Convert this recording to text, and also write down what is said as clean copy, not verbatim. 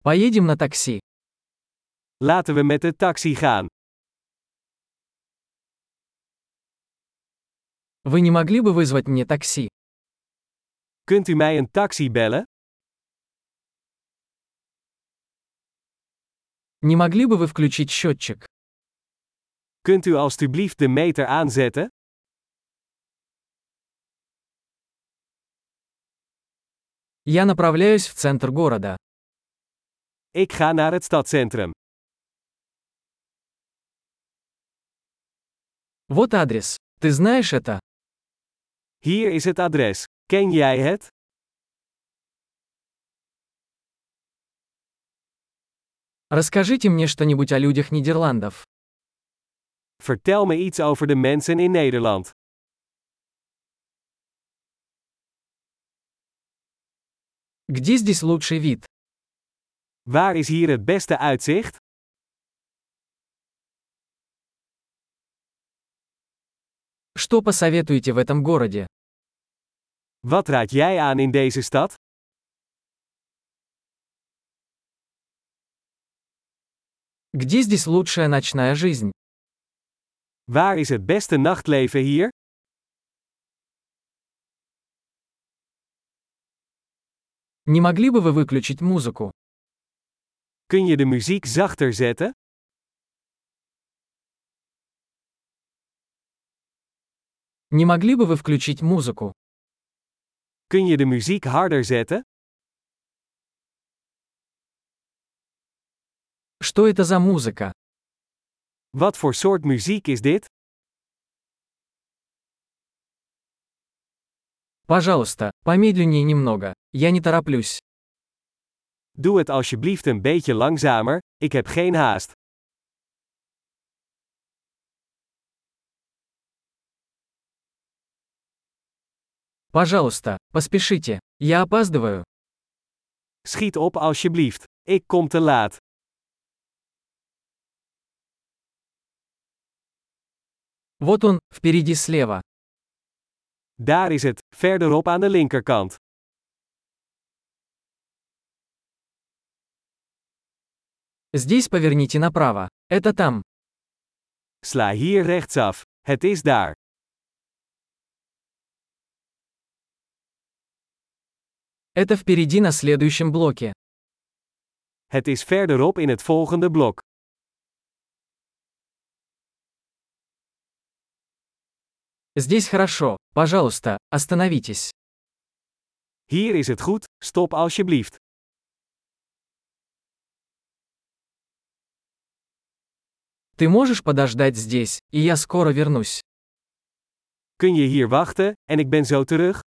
Поедем на такси. Laten we met de taxi gaan. Вы не могли бы вызвать мне такси? Kunt u mij een taxi bellen? Не могли бы вы включить счетчик? Kunt u alstublieft de meter aanzetten? Я направляюсь в центр города. Ik ga naar het stadscentrum. Вот адрес. Ты знаешь это? Hier is het adres. Ken jij het? Расскажите мне что-нибудь о людях Нидерландов. Vertel me iets over de mensen in Nederland. Где здесь лучший вид? Waar is hier het beste uitzicht? Что посоветуете в этом городе? Wat raad jij aan in deze stad? Где здесь лучшая ночная жизнь? Waar is het beste nachtleven hier? Не могли бы вы выключить музыку? Kun je de muziek zachter zetten? Не могли бы вы включить музыку? Kun je de muziek harder zetten? Что это за музыка? Wat voor soort muziek is dit? Пожалуйста, помедленнее немного. Я не тороплюсь. Doe het alsjeblieft een beetje langzamer, ik heb geen haast. Пожалуйста, поспешите. Я опаздываю. Schiet op alsjeblieft. Ik kom te laat. Вот он, впереди слева. Daar is het, verderop aan de linkerkant. Здесь поверните направо. Это там. Sla hier rechtsaf. Het is daar. Это впереди на следующем блоке. Het is verderop in het volgende blok. Здесь хорошо. Пожалуйста, остановитесь. Hier is het goed, stop alsjeblieft. Ты можешь подождать здесь, и я скоро вернусь. Kun je hier wachten, en ik ben zo terug?